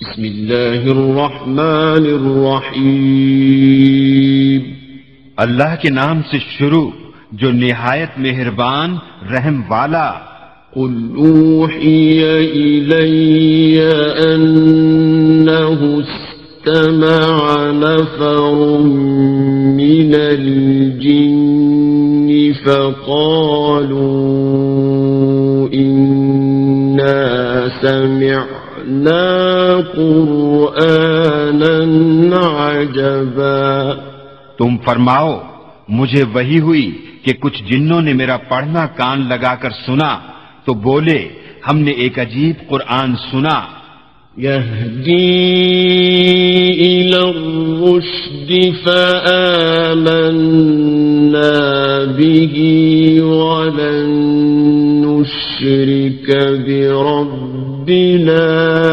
بسم اللہ الرحمن الرحیم. اللہ کے نام سے شروع جو نہایت مہربان رحم والا. قل اوحی الی انہ استمع نفر من الجن فقالوا انا سمعنا قرآنا عجبا. تم فرماؤ مجھے وحی ہوئی کہ کچھ جنوں نے میرا پڑھنا کان لگا کر سنا تو بولے ہم نے ایک عجیب قرآن سنا. یہدی الی الرشد فآمنا به ولن نشرک بربنا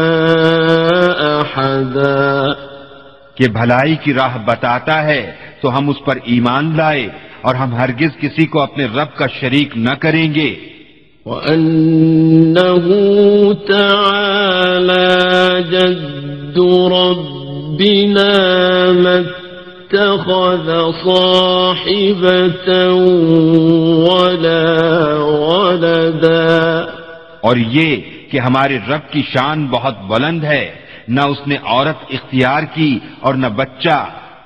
احدا. کہ بھلائی کی راہ بتاتا ہے تو ہم اس پر ایمان لائے اور ہم ہرگز کسی کو اپنے رب کا شریک نہ کریں گے. وَأَنَّهُ تَعَالَى جَدُّ رَبِّنَا مَا اتَّخَذَ صَاحِبَةً وَلَا وَلَدًا. اور یہ کہ ہمارے رب کی شان بہت بلند ہے، نہ اس نے عورت اختیار کی اور نہ بچہ.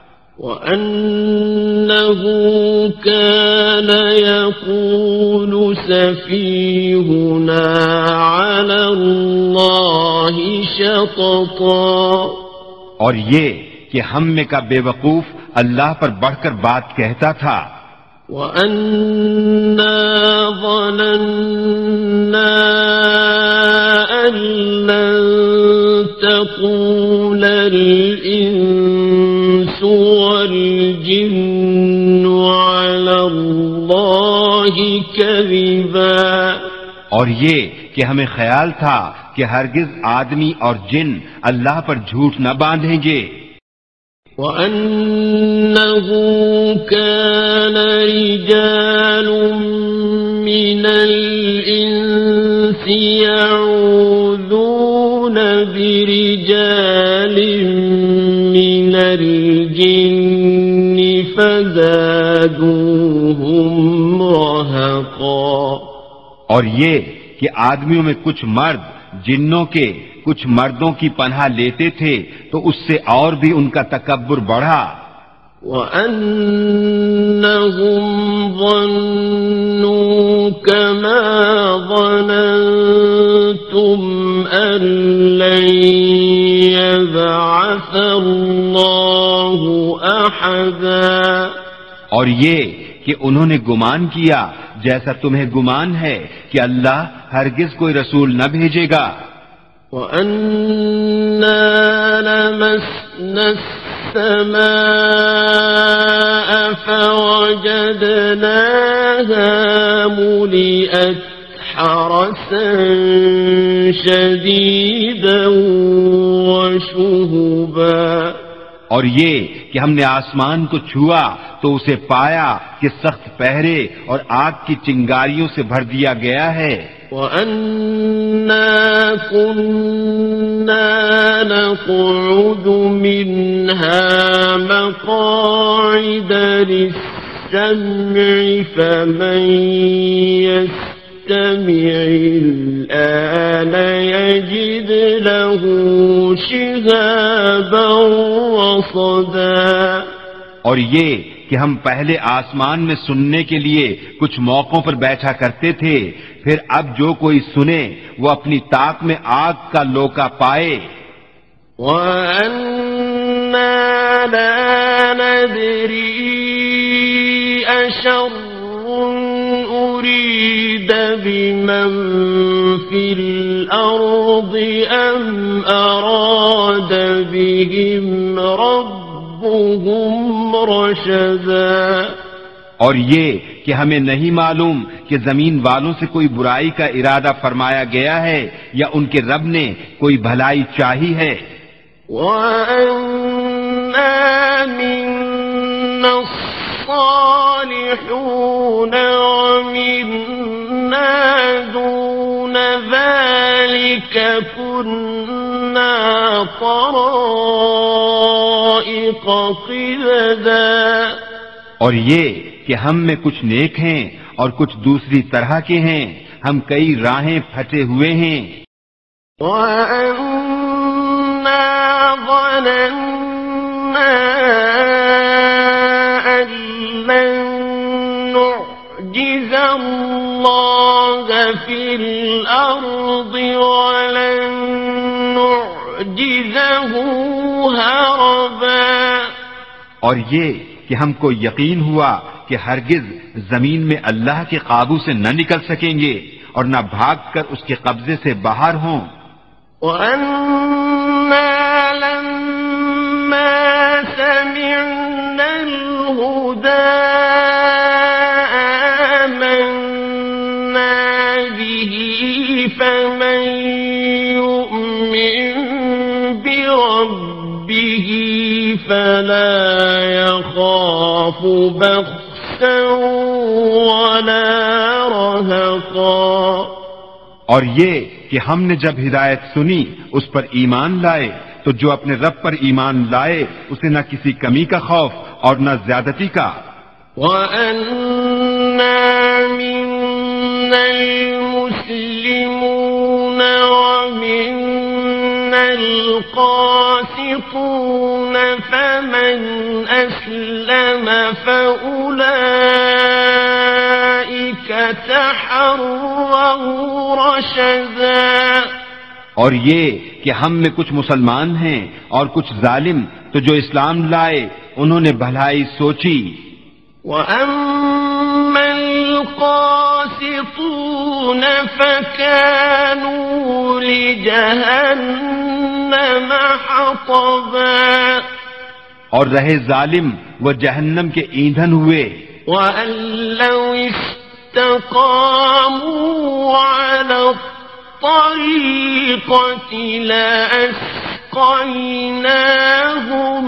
وَأَنَّهُ كَانَ يَقُولُ سَفِيهُنَا عَلَى اللَّهِ شَطَطًا. اور یہ کہ ہم میں کا بے وقوف اللہ پر بڑھ کر بات کہتا تھا. وَأَنَّا ظَنَنَّا أَن لَّن تَقُولَ الْإِنسُ وَالْجِنُّ عَلَى اللَّهِ كَذِبًا. اور یہ کہ ہمیں خیال تھا کہ ہرگز آدمی اور جن اللہ پر جھوٹ نہ باندھیں گے. وَأَنَّهُ كَانَ رِجَالٌ مِّنَ الْإِنسِ يَعُوذُونَ بِرِجَالٍ مِّنَ الْجِنِّ فَزَادُوهُمْ رَهَقًا. اور یہ کہ آدمیوں میں کچھ مرد جنوں کے کچھ مردوں کی پناہ لیتے تھے تو اس سے اور بھی ان کا تکبر بڑھا. وَأَنَّهُمْ ظَنُّوا كَمَا ظَنَنتُمْ أَن لَّن يَبْعَثَ اللَّهُ أَحَدًا. اور یہ کہ انہوں نے گمان کیا جیسا تمہیں گمان ہے کہ اللہ ہرگز کوئی رسول نہ بھیجے گا. وَأَنَّا لَمَسْنَا السَّمَاءَ فَوَجَدْنَاهَا مُلِئَتْ حَرَسًا شَدِيدًا وَشُهُبًا. اور یہ کہ ہم نے آسمان کو چھوا تو اسے پایا کہ سخت پہرے اور آگ کی چنگاریوں سے بھر دیا گیا ہے. وَأَنَّا كُنَّا نَقْعُدُ مِنْهَا مَقَاعِدَ لِلسَّمْعِ فَمَن يَسْتَمِعِ الْآنَ يَجِدْ لَهُ شِهَابًا رَّصَدًا. اور یہ کہ ہم پہلے آسمان میں سننے کے لیے کچھ موقعوں پر بیٹھا کرتے تھے، پھر اب جو کوئی سنے وہ اپنی طاق میں آگ کا لوکا پائے. وَأَنَّا لَا نَدْرِي أَشَرٌّ أُرِيدَ بِمَن فِي الْأَرْضِ أَمْ أَرَادَ بِهِمْ رَبُّهُمْ رَشَدًا. اور یہ کہ ہمیں نہیں معلوم کہ زمین والوں سے کوئی برائی کا ارادہ فرمایا گیا ہے یا ان کے رب نے کوئی بھلائی چاہی ہے. وَأَنَّا مِنَّا الصَّالِحُونَ وَمِنَّا دُونَ ذَلِكَ كُنَّا طرائق قددا اور یہ کہ ہم میں کچھ نیک ہیں اور کچھ دوسری طرح کے ہیں، ہم کئی راہیں پھٹے ہوئے ہیں۔ وَأَنَّا ظَنَنَّا أَن لَّن نُّعْجِزَ اللَّهَ فِي الْأَرْضِ وَلَن نُّعْجِزَهُ هَرَبًا، اور یہ کہ ہم کو یقین ہوا کہ ہرگز زمین میں اللہ کے قابو سے نہ نکل سکیں گے اور نہ بھاگ کر اس کے قبضے سے باہر ہوں۔ وَأَنَّا لَمَّا سَمِعْنَا الْهُدَىٰ آمَنَّا بِهِ فَمَن يُؤْمِن بِرَبِّهِ فَلَا يَخَافُ بَخْسًا وَلَا رَهَقًا، اور یہ کہ ہم نے جب ہدایت سنی اس پر ایمان لائے تو جو اپنے رب پر ایمان لائے اسے نہ کسی کمی کا خوف اور نہ زیادتی کا۔ وَأَنَّا مِنَّا الْمُسْلِمُونَ وَمِنَّا الْقَاسِطُونَ فَمَنْ أَسْلَمَ فَأُولَئِكَ تَحَرَّوْا رَشَدًا، اور یہ کہ ہم میں کچھ مسلمان ہیں اور کچھ ظالم، تو جو اسلام لائے انہوں نے بھلائی سوچی۔ وَأَمَّا الْقَاسِطُونَ فَكَانُوا لِجَهَنَّمَ حَطَبًا، اور رہے ظالم وہ جہنم کے ایندھن ہوئے۔ وَأَن لَّوْ اسْتَقَامُوا عَلَى الطَّرِيقَةِ لَأَسْقَيْنَاهُم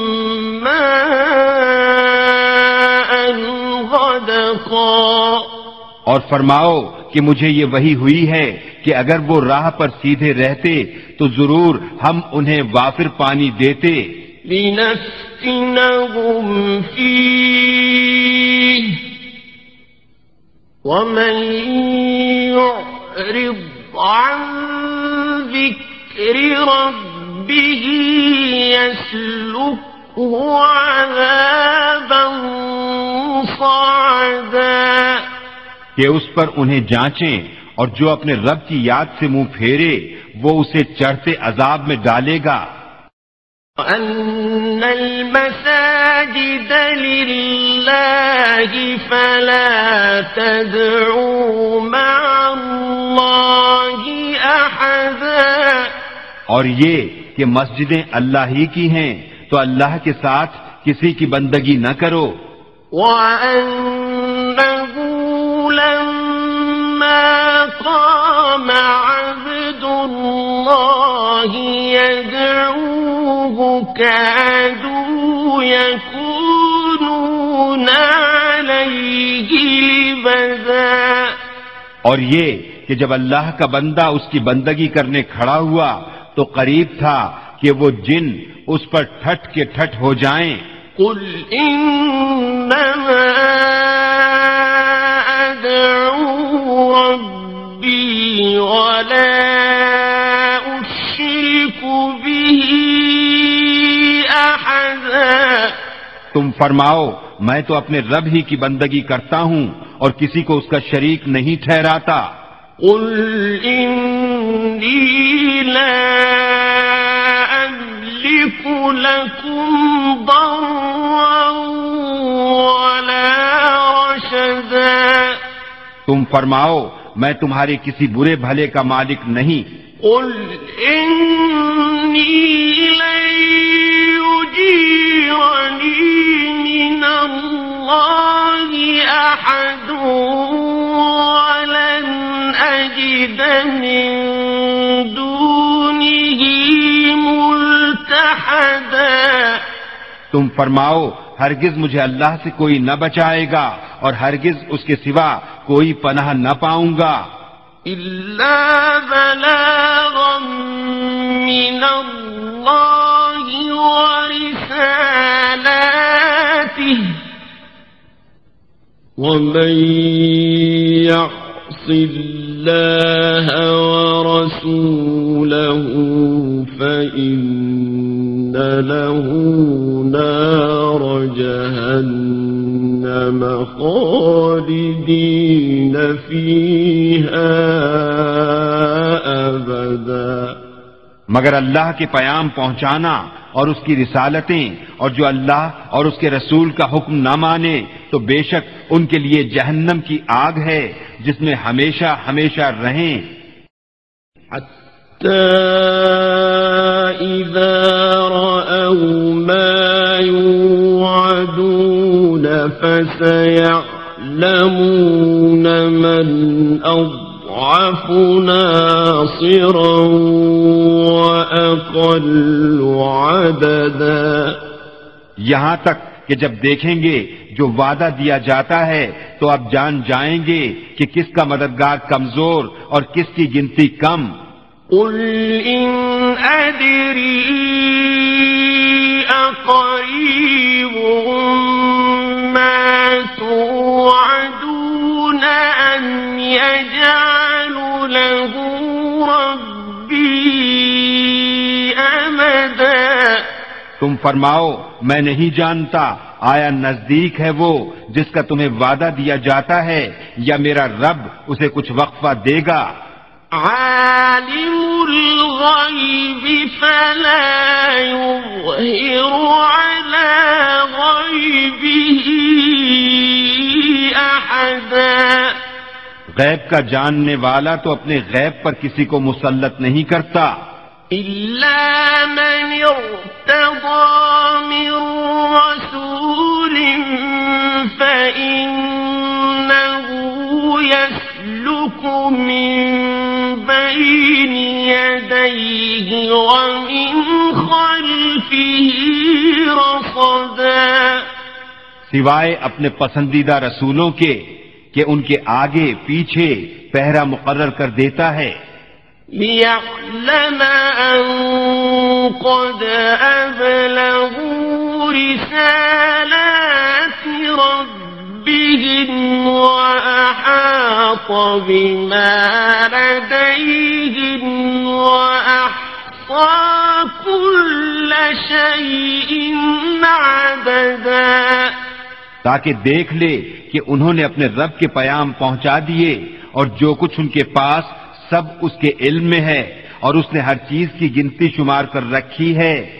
مَّاءً غَدَقًا، اور فرماؤ کہ مجھے یہ وحی ہوئی ہے کہ اگر وہ راہ پر سیدھے رہتے تو ضرور ہم انہیں وافر پانی دیتے۔ لِنَفْتِنَهُمْ فِيهِ وَمَن يُعْرِضْ عَن ذِكْرِ رَبِّهِ يَسْلُكْهُ عَذَابًا صَعَدًا، کہ اس پر انہیں جانچیں اور جو اپنے رب کی یاد سے منہ پھیرے وہ اسے چڑھتے عذاب میں ڈالے گا۔ وَأَنَّ الْمَسَاجِدَ لِلَّهِ فَلَا تَدْعُوا مَعَ اللَّهِ أَحَدًا، اور یہ کہ مسجدیں اللہ ہی کی ہیں تو اللہ کے ساتھ کسی کی بندگی نہ کرو۔ وَأَنَّهُ لَمَّا قَامَ عَبْدُ اللَّهِ يَدْعُوهُ كَادُوا يَكُونُونَ عَلَيْهِ لِبَدًا، اور یہ کہ جب اللہ کا بندہ اس کی بندگی کرنے کھڑا ہوا تو قریب تھا کہ وہ جن اس پر ٹھٹ کے ٹھٹ ہو جائیں۔ قُلْ إِنَّمَا أَدْعُو رَبِّي وَلَا أُشْرِكُ بِهِ أَحَدًا، تم فرماؤ میں تو اپنے رب ہی کی بندگی کرتا ہوں اور کسی کو اس کا شریک نہیں ٹھہراتا۔ قُلْ إِنِّي لَا أَمْلِكُ لَكُمْ ضَرًّا وَلَا رَشَدًا، تم فرماؤ میں تمہارے کسی برے بھلے کا مالک نہیں۔ قُلْ إِنِّي لَن يُجِيرَنِي مِنَ اللَّهِ أَحَدٌ وَلَنْ أَجِدَ مِن دُونِهِ مُلْتَحَدًا، تم فرماؤ ہرگز مجھے اللہ سے کوئی نہ بچائے گا اور ہرگز اس کے سوا کوئی پناہ نہ پاؤں گا۔ إِلَّا بَلَاغًا من الله ورسالاته ومن يعص الله ورسوله فإن له نار جهنم خالدين فيها أبدا. مگر اللہ کے پیام پہنچانا اور اس کی رسالتیں اور جو اللہ اور اس کے رسول کا حکم نہ مانے تو بے شک ان کے لیے جہنم کی آگ ہے جس میں ہمیشہ ہمیشہ رہیں. حتى إذا رأوا ما يوعدون فسيعلمون من أضعف ناصرا وأقل عددا. یہاں تک کہ جب دیکھیں گے جو وعدہ دیا جاتا ہے تو اب جان جائیں گے کہ کس کا مددگار کمزور اور کس کی گنتی کم. قل إن أدري أقريب ما توعدون أم يجعل له ربي أمدا. تم فرماؤ میں نہیں جانتا آیا نزدیک ہے وہ جس کا تمہیں وعدہ دیا جاتا ہے یا میرا رب اسے کچھ وقفہ دے گا. عالم الغيب فلا يظهر على غيبه أحدا. غیب کا جاننے والا تو اپنے غیب پر کسی کو مسلط نہیں کرتا إلا من ارتضى من رسول فإنه يسلك من بين يديه ومن خلفه رصدا. سوائے اپنے پسندیدہ رسولوں کے کہ ان کے آگے پیچھے پہرا مقرر کر دیتا ہے. ليعلم أن قد أبلغوا رسالات ربهم وأحاط بما لديهم وأحصى كل شيء عددا. تاکہ دیکھ لے کہ انہوں نے اپنے رب کے پیام پہنچا دیے اور جو کچھ ان کے پاس سب اس کے علم میں ہے اور اس نے ہر چیز کی گنتی شمار کر رکھی ہے.